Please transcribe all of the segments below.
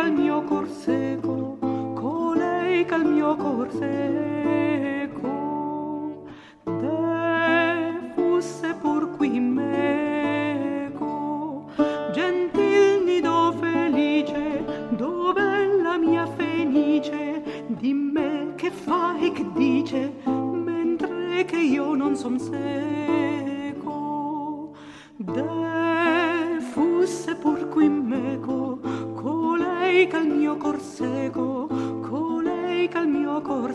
col mio cor seco, colei col mio cor seco, de fusse pur qui meco, gentil nido felice, dove la mia fenice, di me che fa e che dice, mentre che io non son seco, de fusse pur qui meco, colei col mio cor seco, colei col mio cor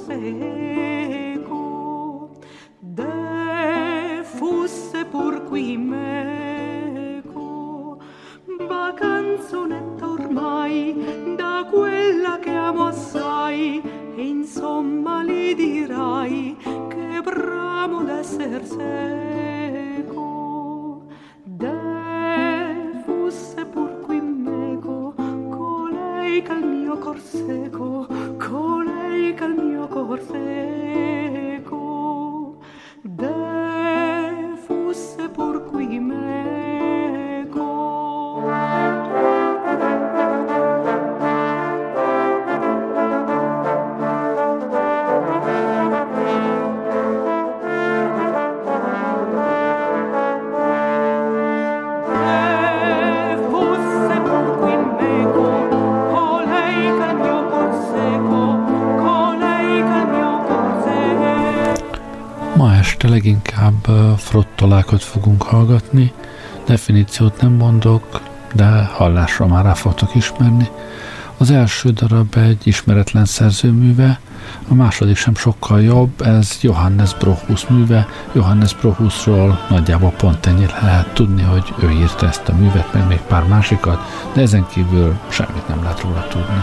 seco, de fusse pur qui meco, ma canzonetta ormai da quella che amo assai, e insomma li dirai che bramo d'esser seco, de fusse pur qui meco, colei col mio cor seco, colei col mio cor seco, de fusse pur qui meco. Ma este leginkább frottolákat fogunk hallgatni, definíciót nem mondok, de hallásra már rá fogtok ismerni. Az első darab egy ismeretlen szerzőműve, a második sem sokkal jobb, ez Johannes Brockhus műve. Johannes Brockhusról nagyjából pont ennyit lehet tudni, hogy ő írta ezt a művet, meg még pár másikat, de ezen kívül semmit nem lehet róla tudni.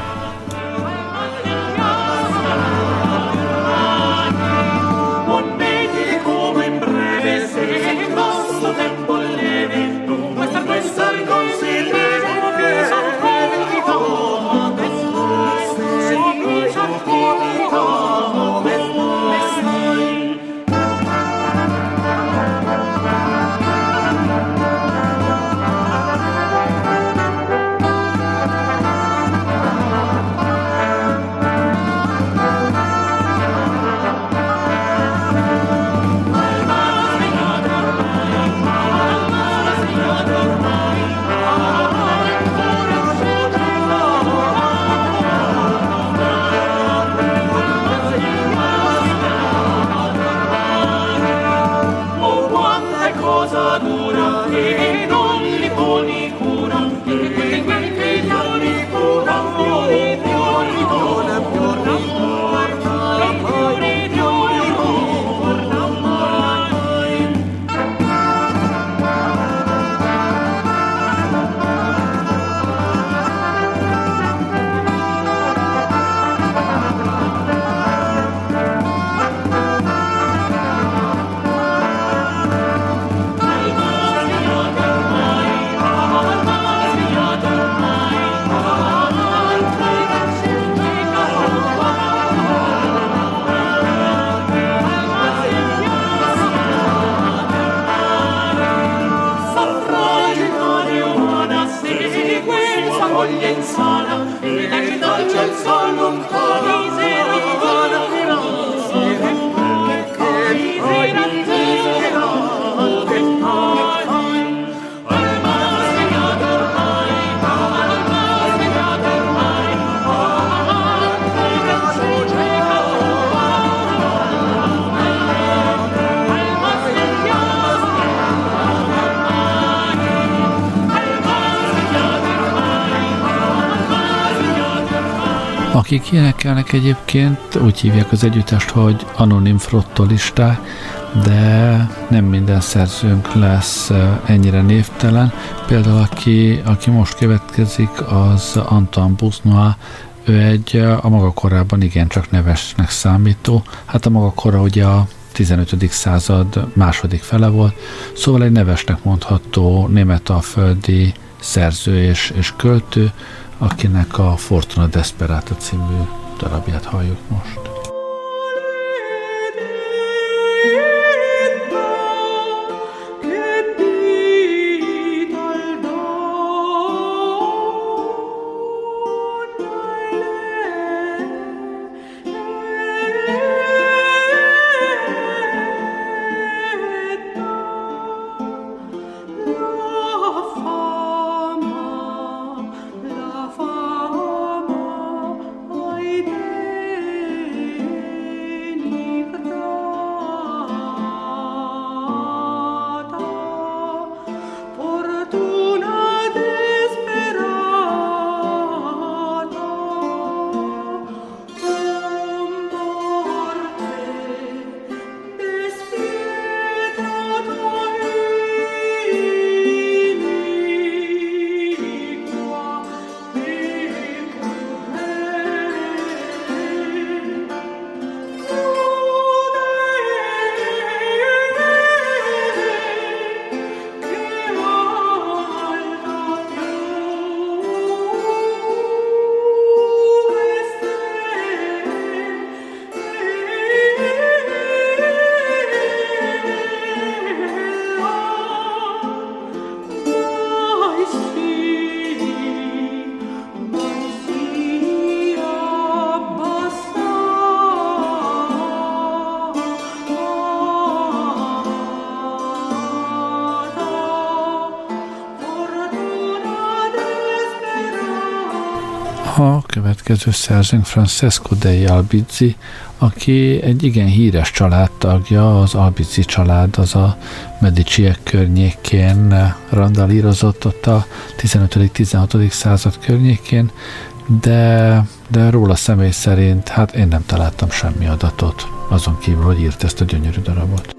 Akik énekelnek egyébként, úgy hívják az együttest, hogy anonim frottolisták, de nem minden szerzőnk lesz ennyire névtelen. Például aki most következik, az Antoine Busnois, ő a maga korában igencsak nevesnek számító. Hát a maga kora ugye a 15. század második fele volt, szóval egy nevesnek mondható németalföldi szerző és költő, akinek a Fortuna Desperata című darabját halljuk most. A következő szerzőnk Francesco dei Albizzi, aki egy igen híres családtagja, az Albizzi család, az a Mediciek környékén randalírozott ott a 15.-16. század környékén, de róla személy szerint, hát én nem találtam semmi adatot, azon kívül, hogy írt ezt a gyönyörű darabot.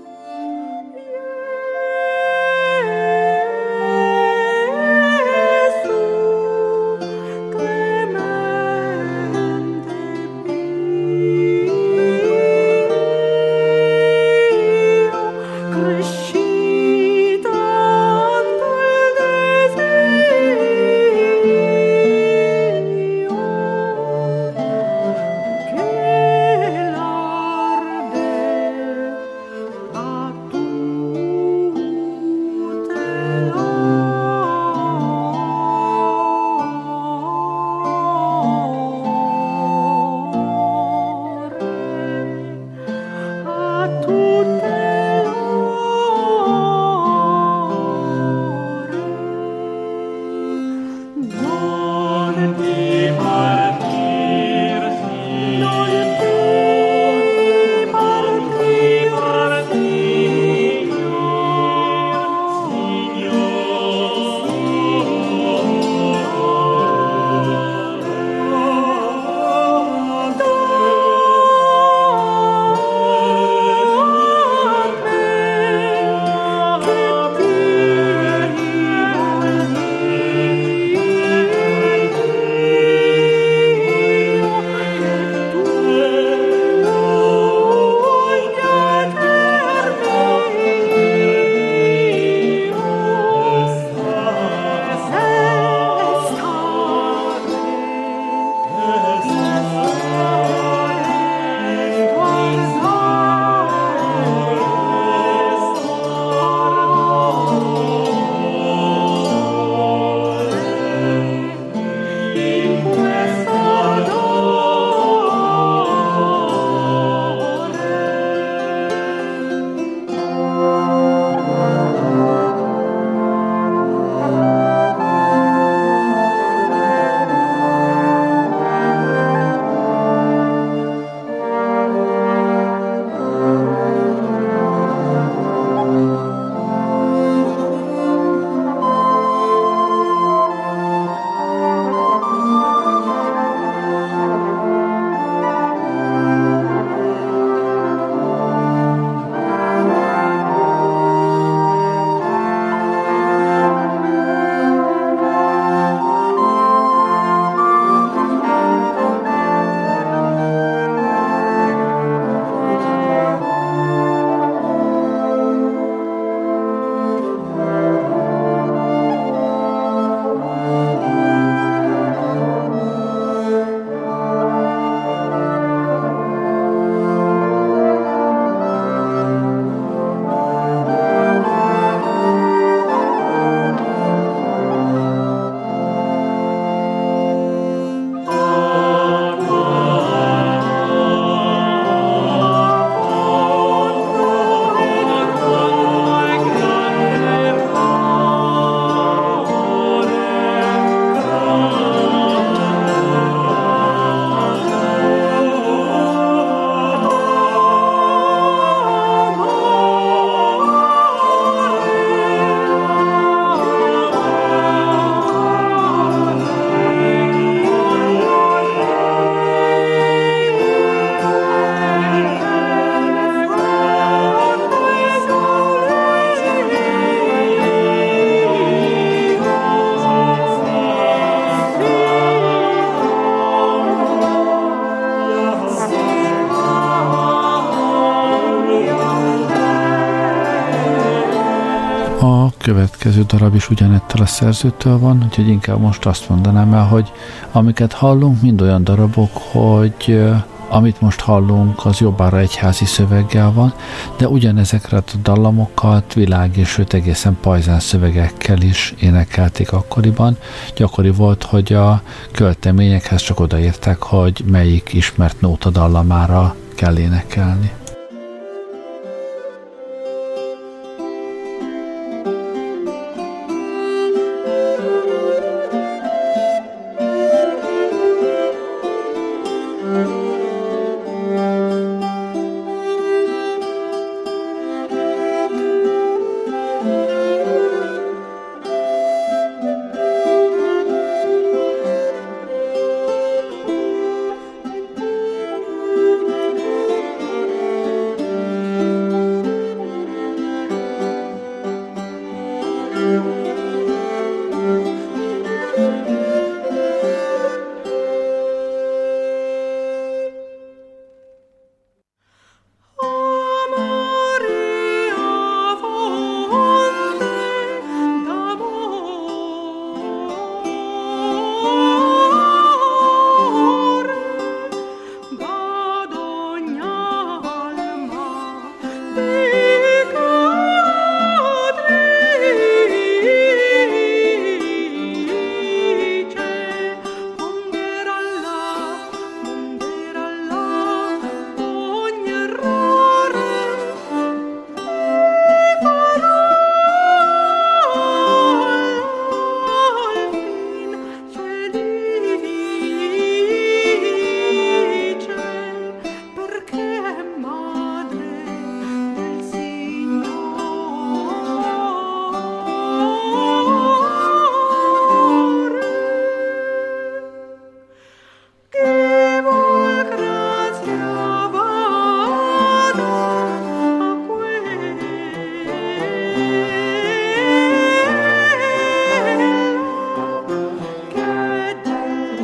A következő darab is ugyanettől a szerzőtől van, úgyhogy inkább most azt mondanám el, hogy amiket hallunk, mind olyan darabok, hogy amit most hallunk, az jobbára egyházi szöveggel van, de ugyanezekre a dallamokat világ és sőt egészen pajzán szövegekkel is énekelték akkoriban. Gyakori volt, hogy a költeményekhez csak odaírták, hogy melyik ismert nóta dallamára kell énekelni.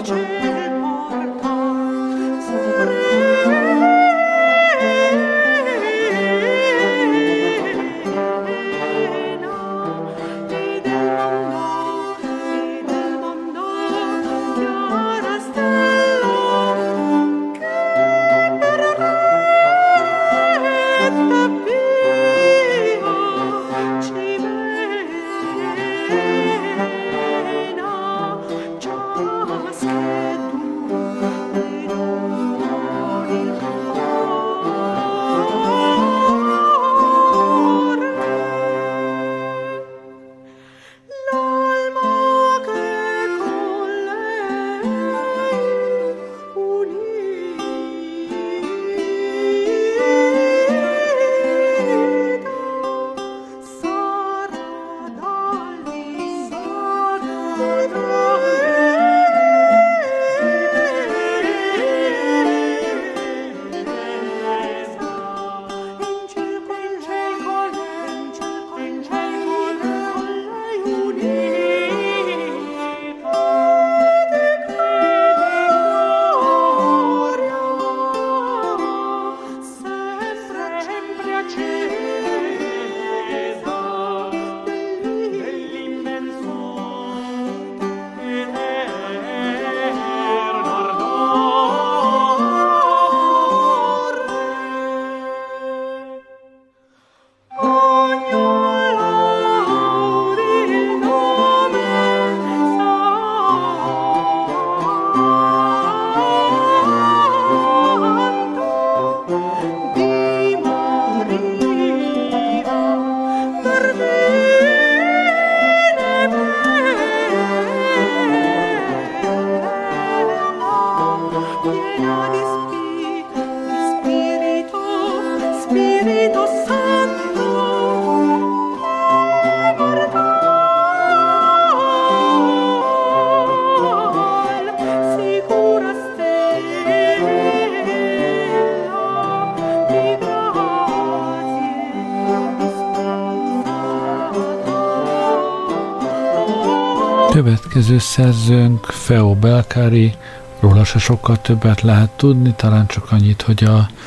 Következő szerzőnk Feo Belkári, róla se sokkal többet lehet tudni, talán csak annyit, hogy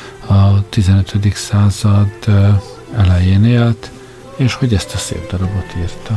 a 15. század elején élt, és hogy ezt a szép darabot írta.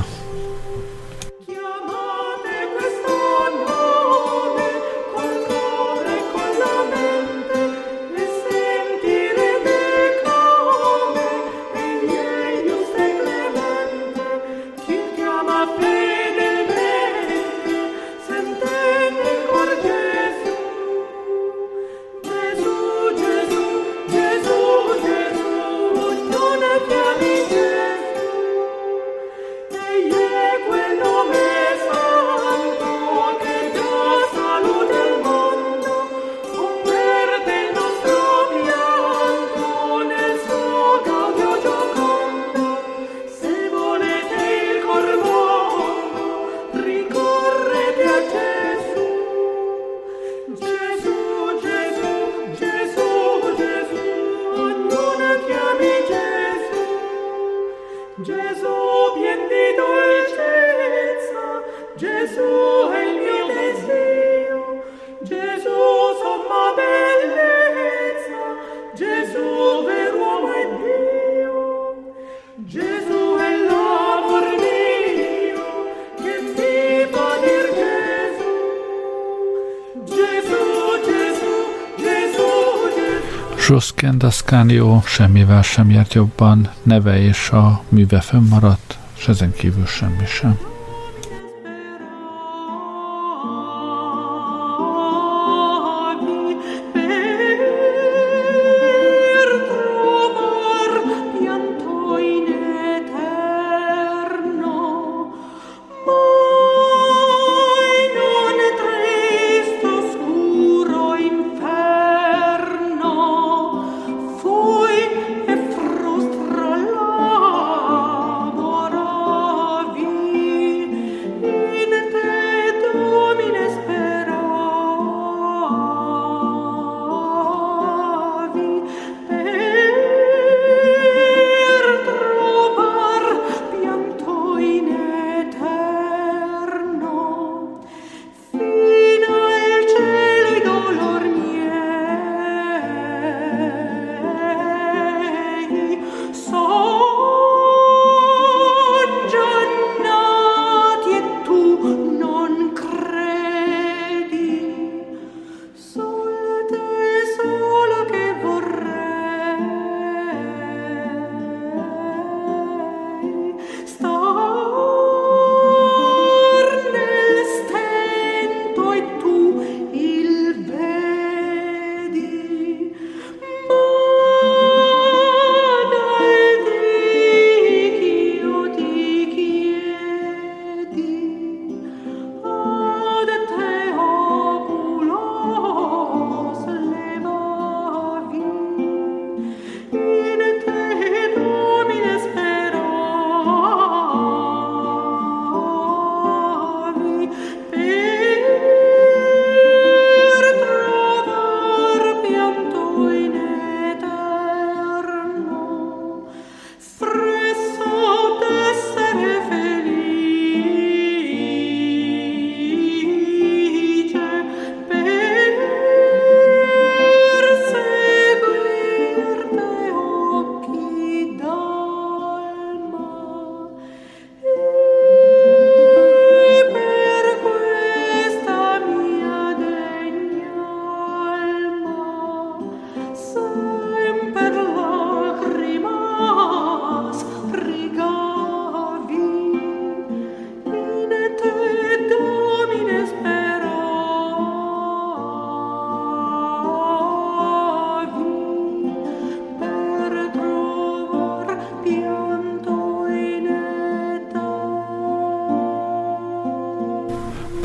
Josquin d'Ascanio semmivel sem járt jobban, neve és a műve fönnmaradt, s ezen kívül semmi sem. Frustra labora vita.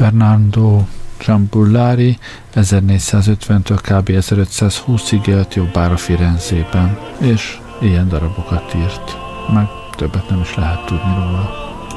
Bernardo Giambullari 1450-től kb. 1520-ig élt jobbára Firenzében, és ilyen darabokat írt. Meg többet nem is lehet tudni róla.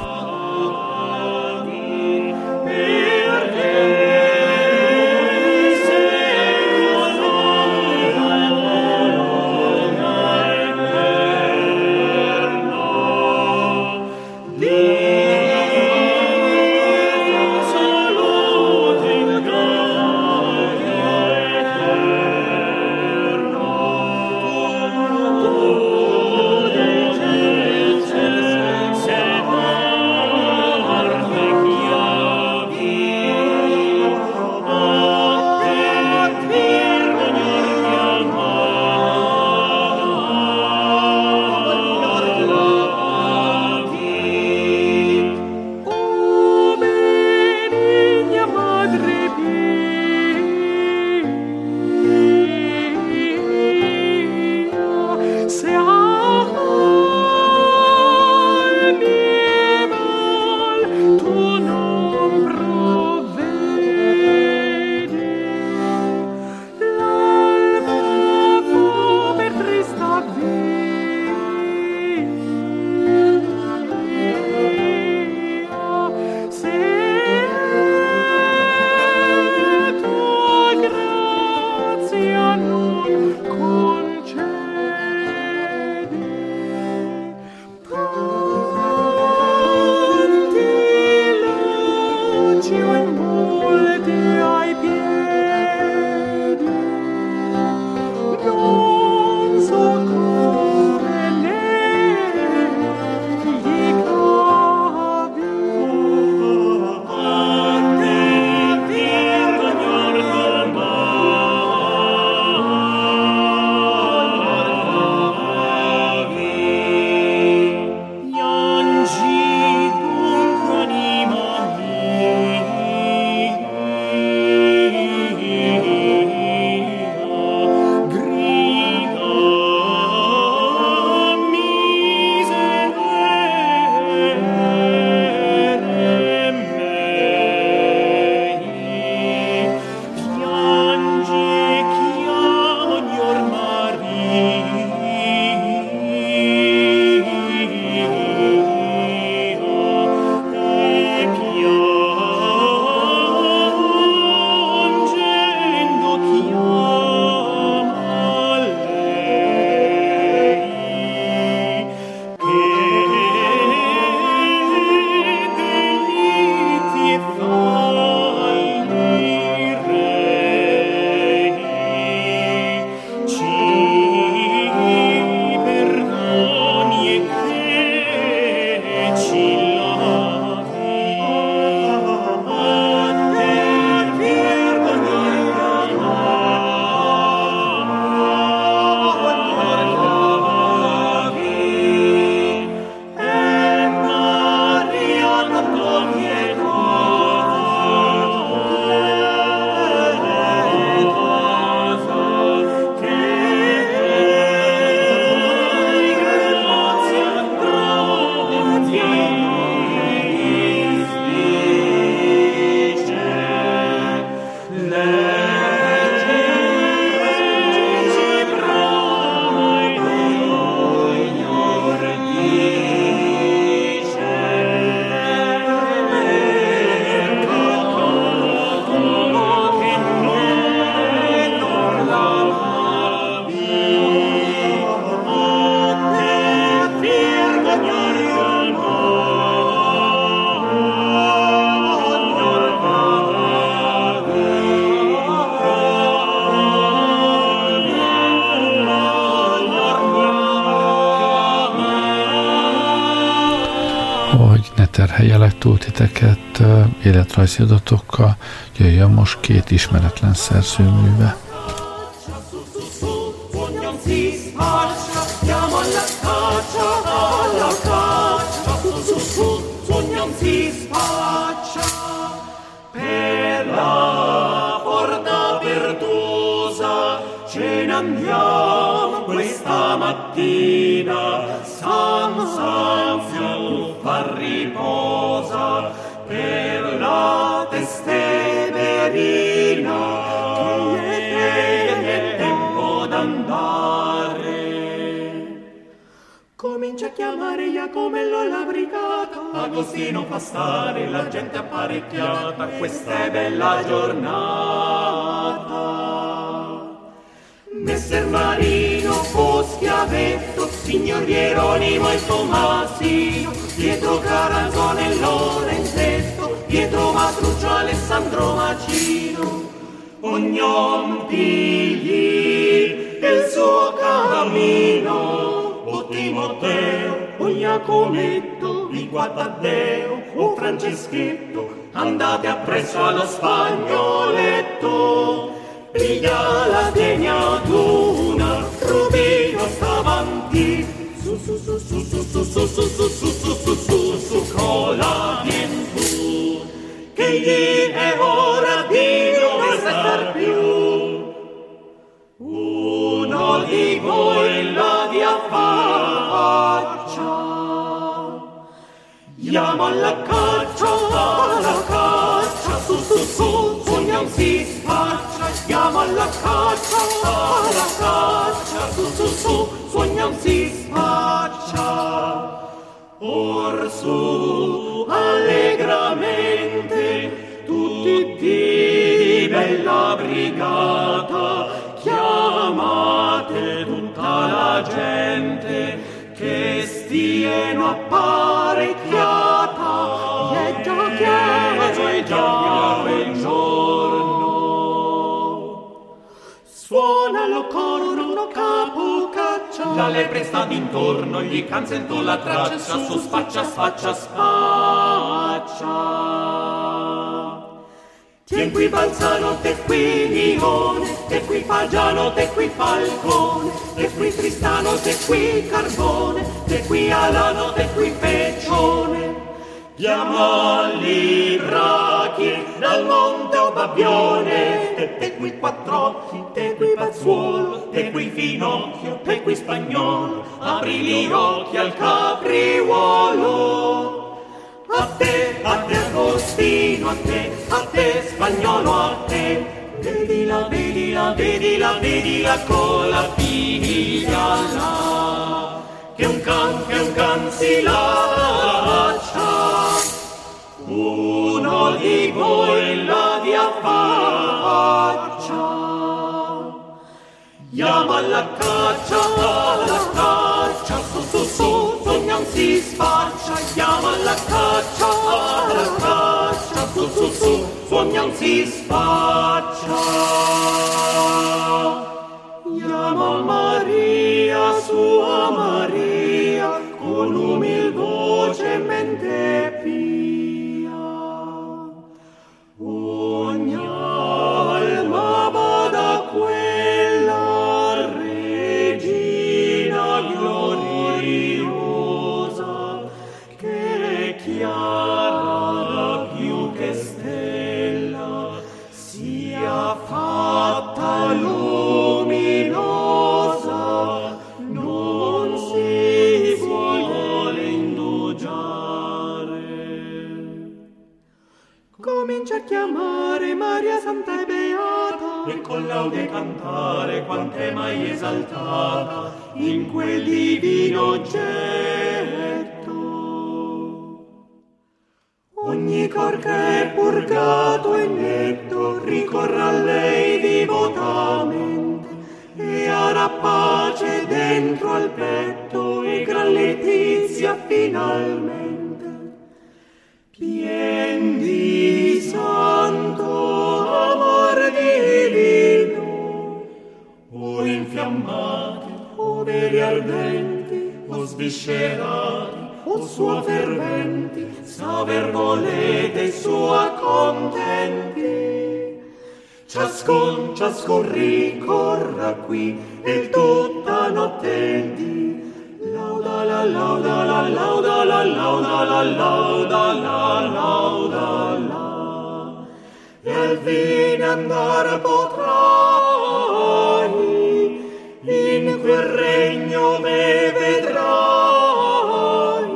Terheljelek túl titeket életrajzi adatokkal, jöjjön most két ismeretlen szerzőműve. Questa mattina San più riposa per la testa serina, che è tempo d'andare. Comincia a chiamare Iacomello alla brigata. Agostino fa stare la gente apparecchiata, questa è bella giornata. Messer Marino, Schiavetto, signor Hieronimo e Tommasino, Pietro Caranzone e Lorenzetto, Pietro Matruccio, Alessandro Macino, ognon pigli il suo cammino, o Timoteo, o Iacometto, di Taddeo, o Franceschetto, andate appresso allo Spagnoletto. Piglia la degnaduna, Rubino sta avanti, su cola vien tu, che gli è ora di non restar più. Uno di voi la via faccia, chiama alla caccia, su, sogna si spaccia, chiama alla caccia, su, sogna si spaccia. Or su, allegramente, tutti di bella brigata, chiamate tutta la gente, che stieno apparecchiata, e già quel giorno. Suona lo corno, capo caccia, La lepre sta d'intorno, gli cancellò la traccia, su spaccia. Tien qui Balzano, te qui Lione, te qui Pagiano, te qui Falcone, te qui Tristano, te qui Carbone, te qui Alano, te qui Peccione. Chiamali brachi dal monte o Babbione, te qui Quattrocchi, te qui Pazzuolo, te qui Finocchio, te qui Spagnolo, apri gli occhi al capriuolo. A te Agostino, a te Spagnolo, a te. Vedila con la figlia là, che un can si lascia. Uno di voi la via faccia, chiama alla caccia, su, sogna si spaccia, chiama alla caccia, su, sogna si spaccia. Chiama Maria, sua Maria, con umil voce e mente pia. Ogni alma vada a quella regina gloriosa, che è chiara più che stella, sia fatta luminosa, non si vuole indugiare. comincia a chiamare Maria Santa e Beata, E con laude cantare quant'è mai esaltata in quel divino oggetto. ogni cor che è purgato e netto ricorra a lei divotamente, e avrà pace dentro al petto e gran letizia finalmente. Pien di santo amor divino, O infiammati, o veri ardenti, o sviscerati, o sua ferventi, s'aver volete sua contenti. Ciascun ricorra qui, e tutta notte di lauda la, e al fine andar potrai, in quel regno me vedrai,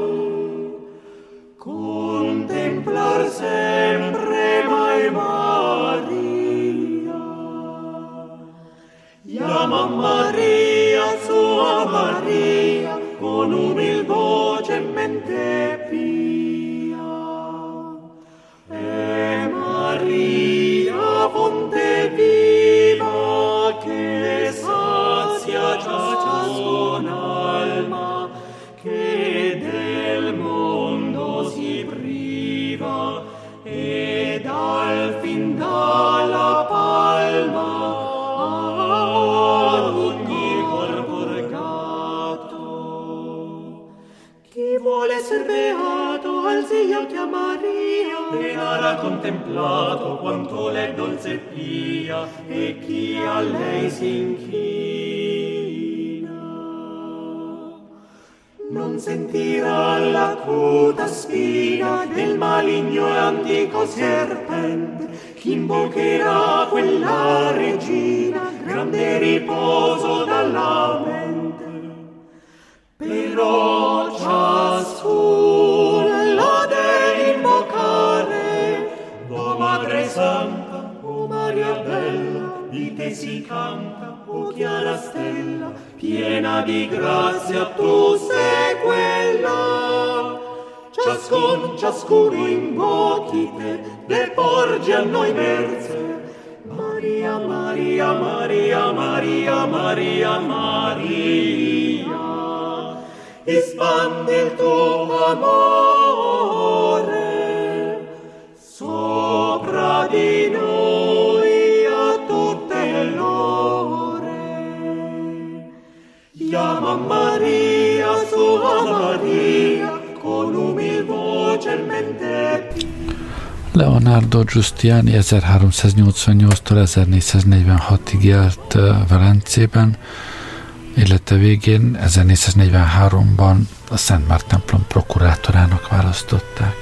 contemplar sempre mai Maria, chiama Maria, sua Maria, con umil voce e mente pia. E Maria, fonte viva, che sazia ciascun alma, che del mondo si priva, ed al fin dalla palma ad ogni cor purgato. Chi vuole ser beato, alzi gli occhi a Maria, e avrà contemplato quanto l'è dolce pia, e chi a lei si inchina non sentirà l'acuta spina del maligno e antico serpente. Chi invocherà quella regina, grande riposo dalla mente. Però ciascun la deve invocare, o Madre Santa, o Maria Bella, di te si canta, o chiara stella, piena di grazia, tu sei quella. Ciascuno invochi te, deporgi a noi mercè. Maria, Maria, Maria, Maria, Maria, Maria, espandi il tuo amore sopra di noi a tutte l'ore. Chiama Maria, sua Maria, con umil voce e mente. Leonardo Giustiani 1388-tól 1446-ig élt Velencében, élete végén 1443-ban a Szent Márk templom prokurátorának választották.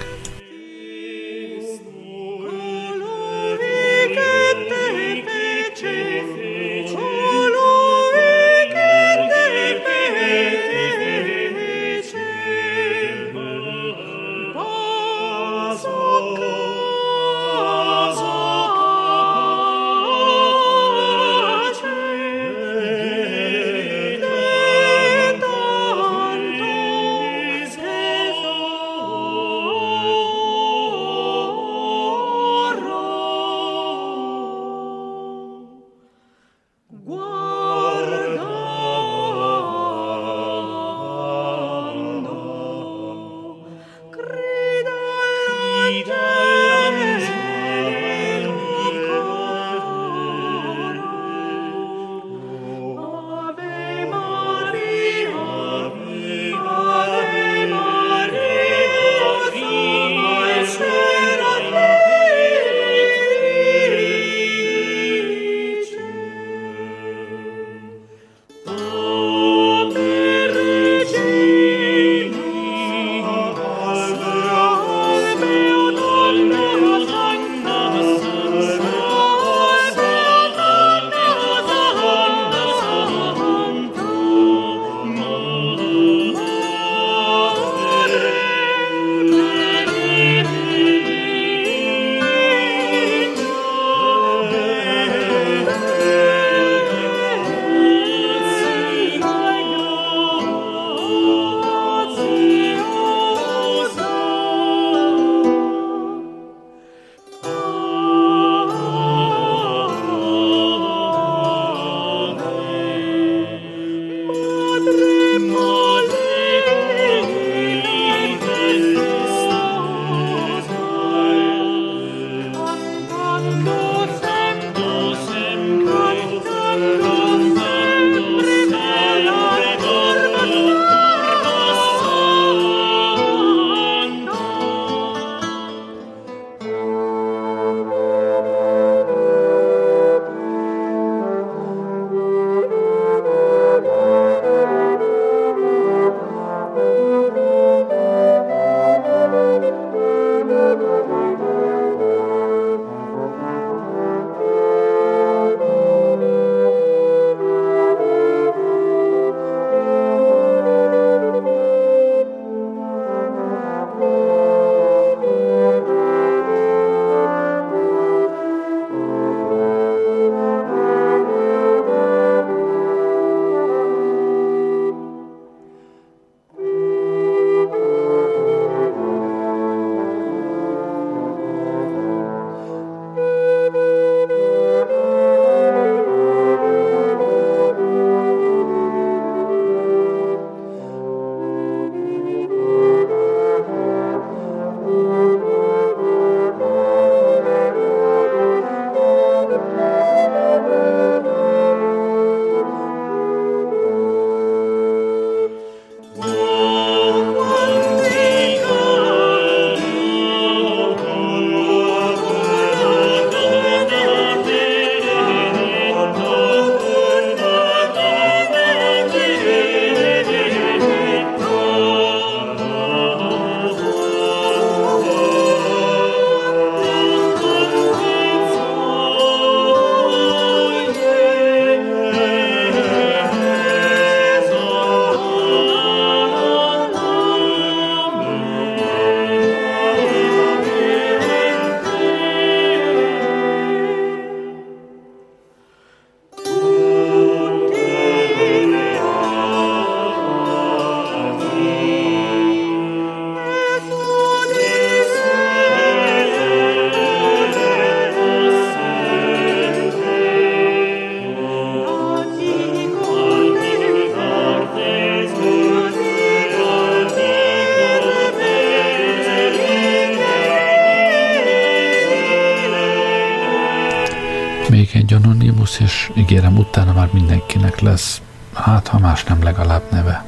még egy Anonymous, és ígérem, utána már mindenkinek lesz, hát ha más nem, legalább neve.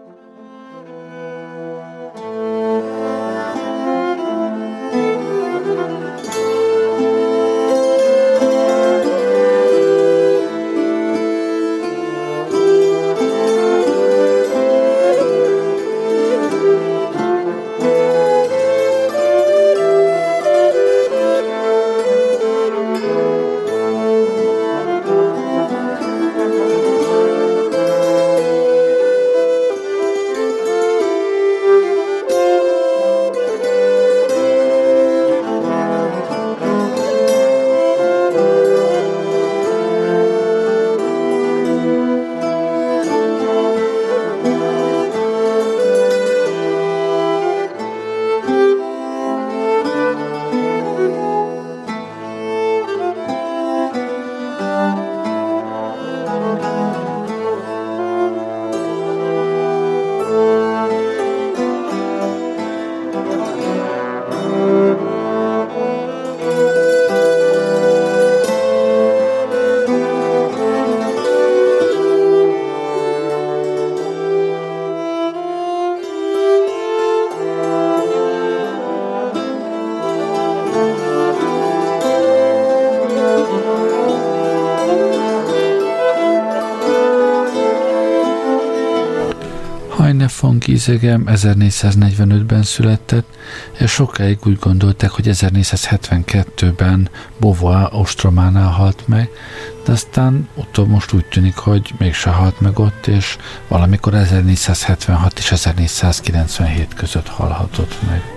von Giesecke 1445-ben született, és sokáig úgy gondolták, hogy 1472-ben Beauvoir ostrománál halt meg, de aztán utóbb most úgy tűnik, hogy mégse halt meg ott, és valamikor 1476 és 1497 között halhatott meg.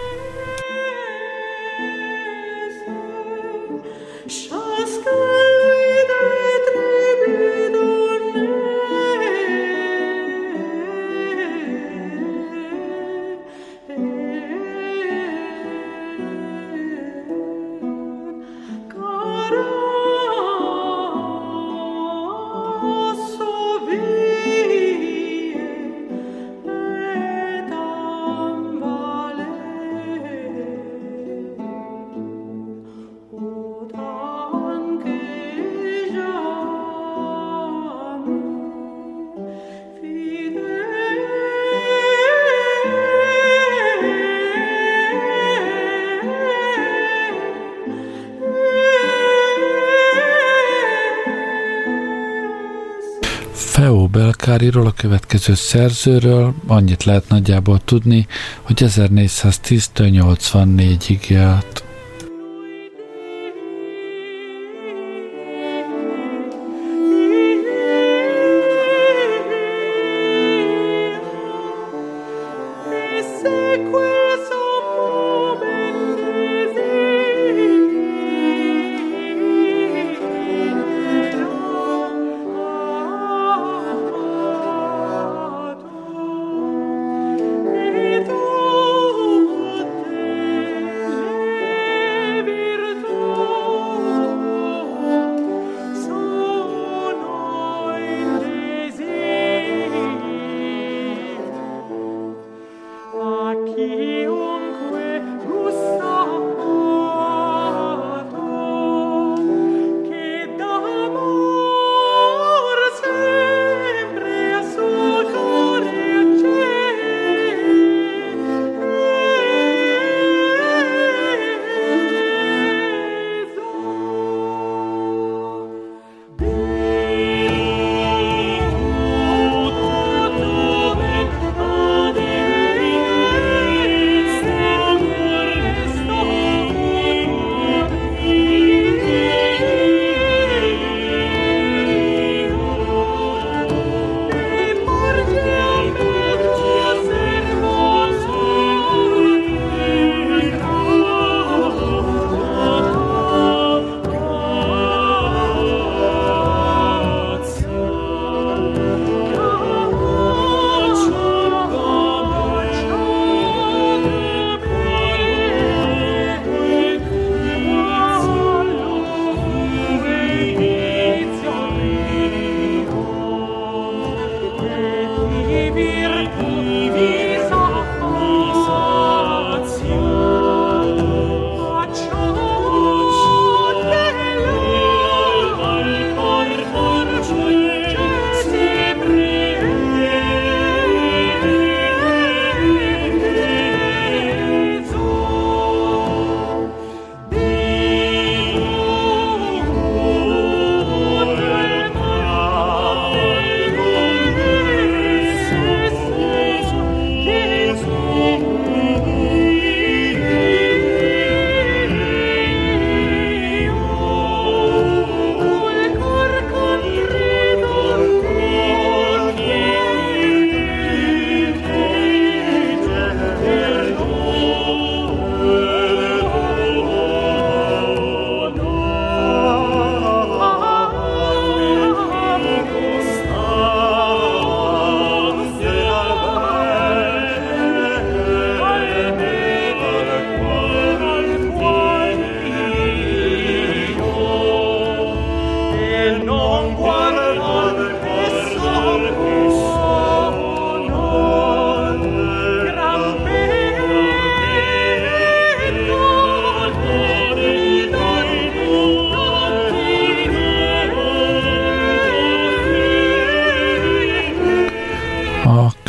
Feo Belkáriról, a következő szerzőről annyit lehet nagyjából tudni, hogy 1410-től 84-ig élt.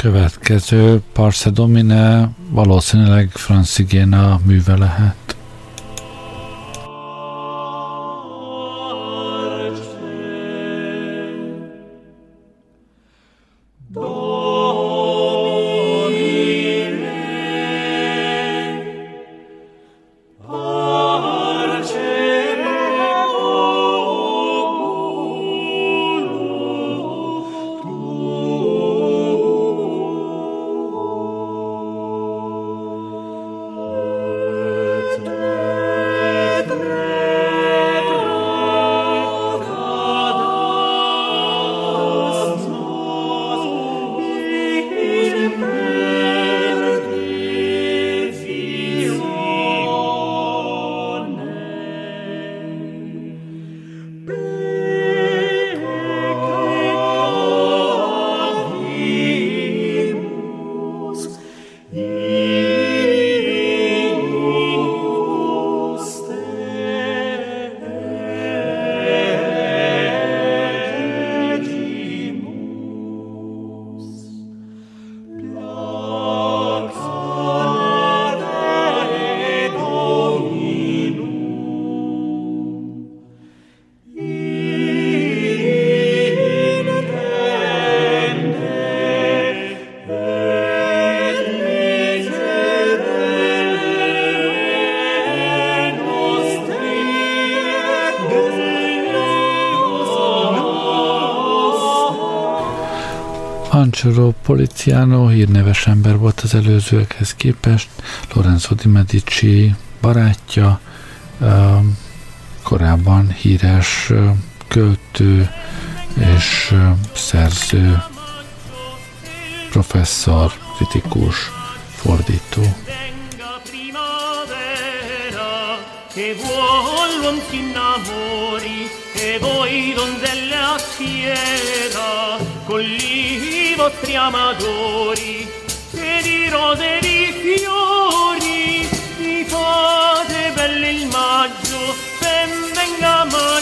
Következő Parce Domine valószínűleg Franz Igéna műve lehet. Angelo Poliziano hírneves ember volt az előzőekhez képest, Lorenzo di Medici barátja, korábban híres költő és szerző, professzor, kritikus, fordító. Che vuol l'uom s'innamori, e voi donzelle a fiera, con i vostri amadori, e di rose e di fiori, mi fate belle il maggio, ben venga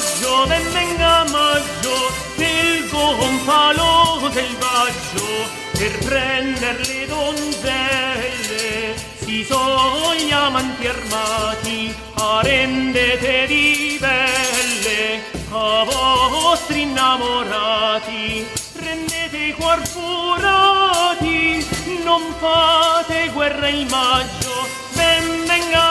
maggio, il gonfalo selvaggio, per prender le donzelle, si son gli amanti armati, rendete di belle a vostri innamorati, rendete i cuor furati, non fate guerra il maggio, ben venga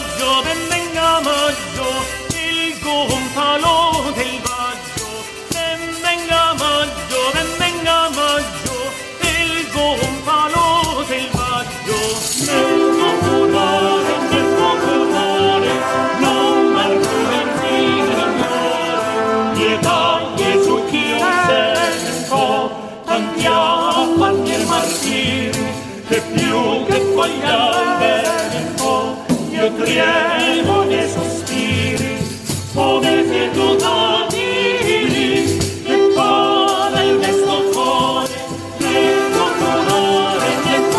maggio, il gonfalo del vaggio, ben venga maggio, il gonfalo del vaggio, nel popolare, non m'argomenti signore, pietà su chi un sento, tanti affanni e martiri, che più che foglia al vento, io tremo nei sospiri, come se tu t'adiri, e vada il mesto cuore, nel popolare,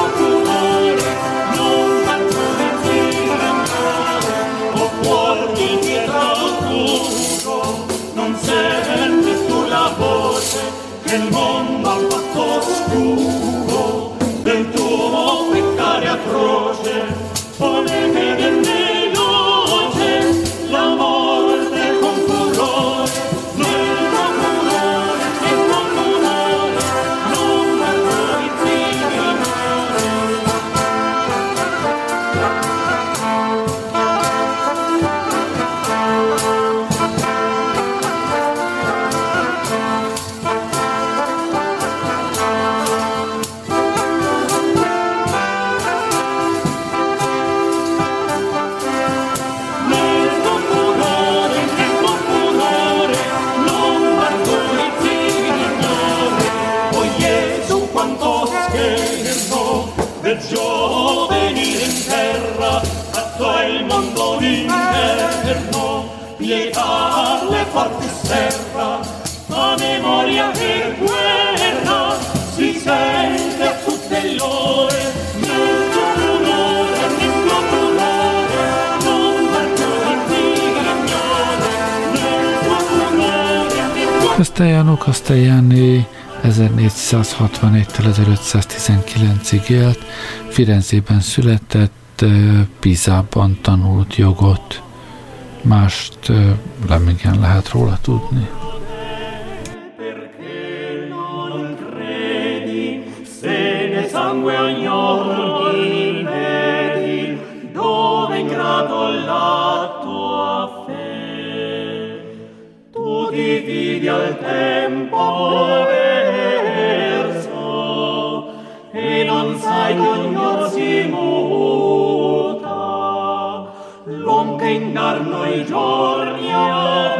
non m'argomenti signore, o cuor di pietra oscuro, non senti tu la voce che il mondo ha fatto oscuro del tuo peccare atroce, come che venne veloce la morte con furore, nel popolare, non m'argomenti del giovenile in terra, atto il mondo l'inverno, pietà le forti serra, a memoria e guerra, si sente a tutte le ore, nel popolare, non Castellano Castellani 1461-től 1519-ig élt, Firenzében született, Pisában tanult jogot. Mást nem igen lehet róla tudni. Dividi al tempo verso e non sai che ognor si muta, l'uom che indarno i giorni ha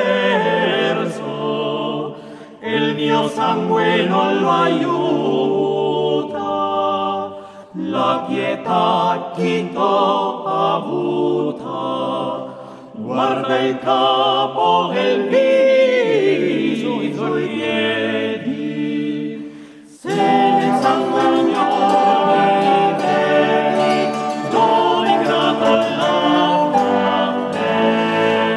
perso e il mio sangue non lo aiuta. La pietà chi t'ho avuta, guarda il capo e il viso, i tuoi piedi, se nel sangue ogni vedi, do ingrato la fede.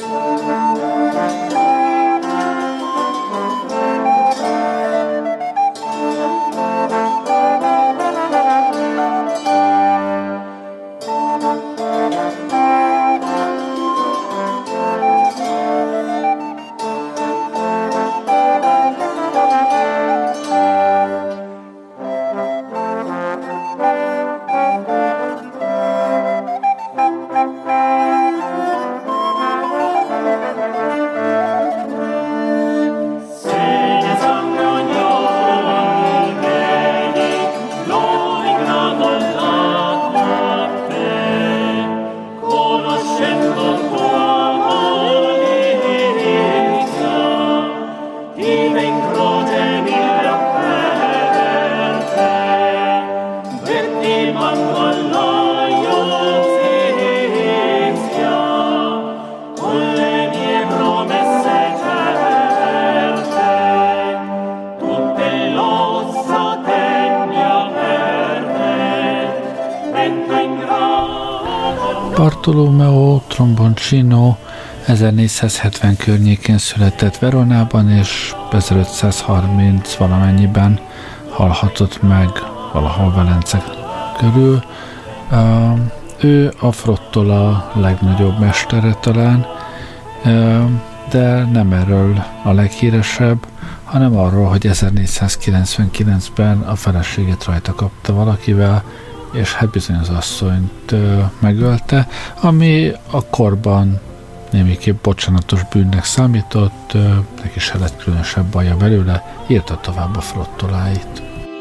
Bartolomeo Tromboncino 1470 környékén született Veronában, és 1530 valamennyiben halhatott meg valahol Velence körül. Ő a Frottola legnagyobb mestere talán, de nem erről a leghíresebb, hanem arról, hogy 1499-ben a feleségét rajta kapta valakivel, és hát bizony az asszonyt megölte, ami a korban némiképp bocsánatos bűnnek számított, neki se lett különösebb baja belőle, írta tovább a Frottoláit.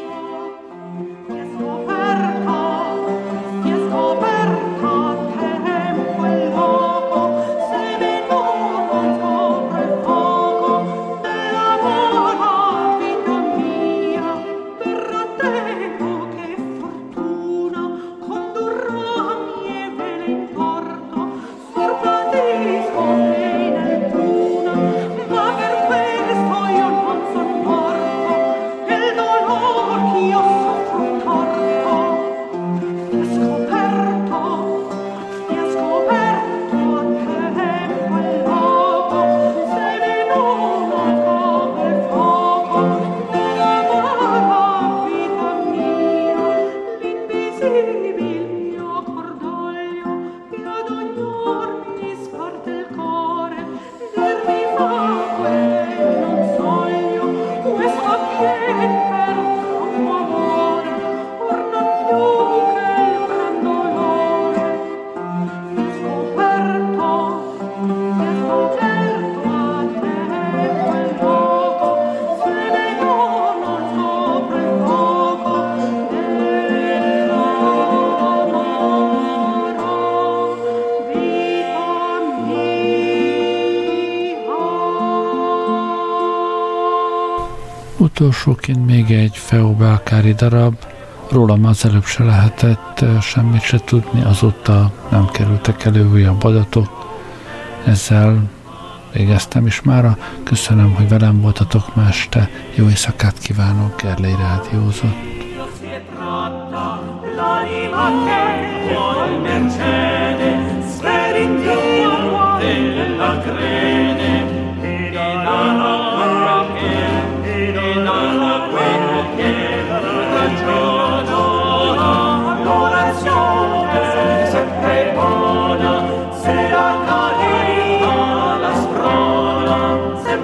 Utolsóként még egy Feobelkári darab, rólam az előbb se lehetett semmit se tudni, azóta nem kerültek elő újabb adatok. Ezzel végeztem is mára. Köszönöm, hogy velem voltatok ma este. Jó éjszakát kívánok, Gerlei rádiózott.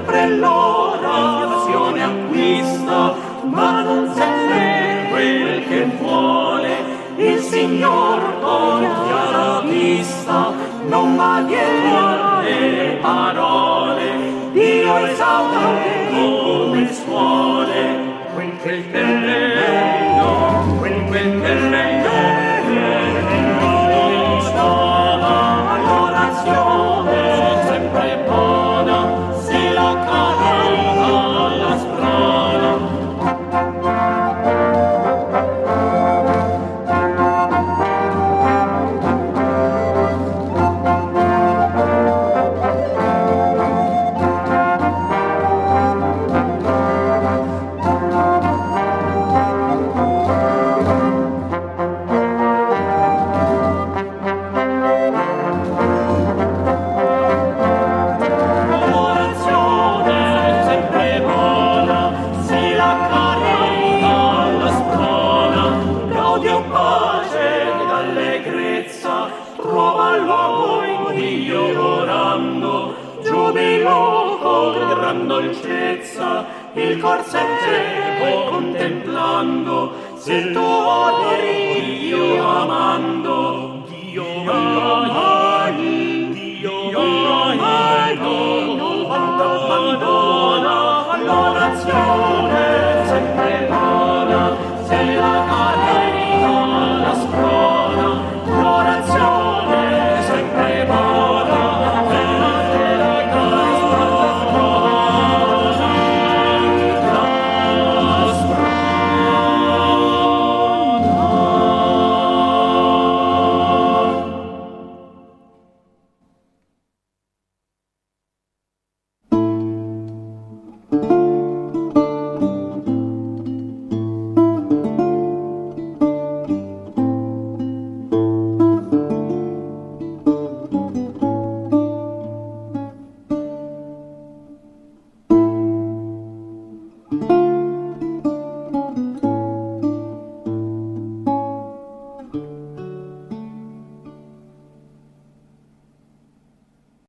sempre l'orazione acquista, ma non sempre quel che vuole. Il Signor con chiara vista non va dietro alle parole. Dio esaure come suole quel terreno, quel terreno. L'orazione sempre buona, se la carica la sprona. Dolcezza il cor sempre contemplando, se tu ori Dio amando, Dio amando.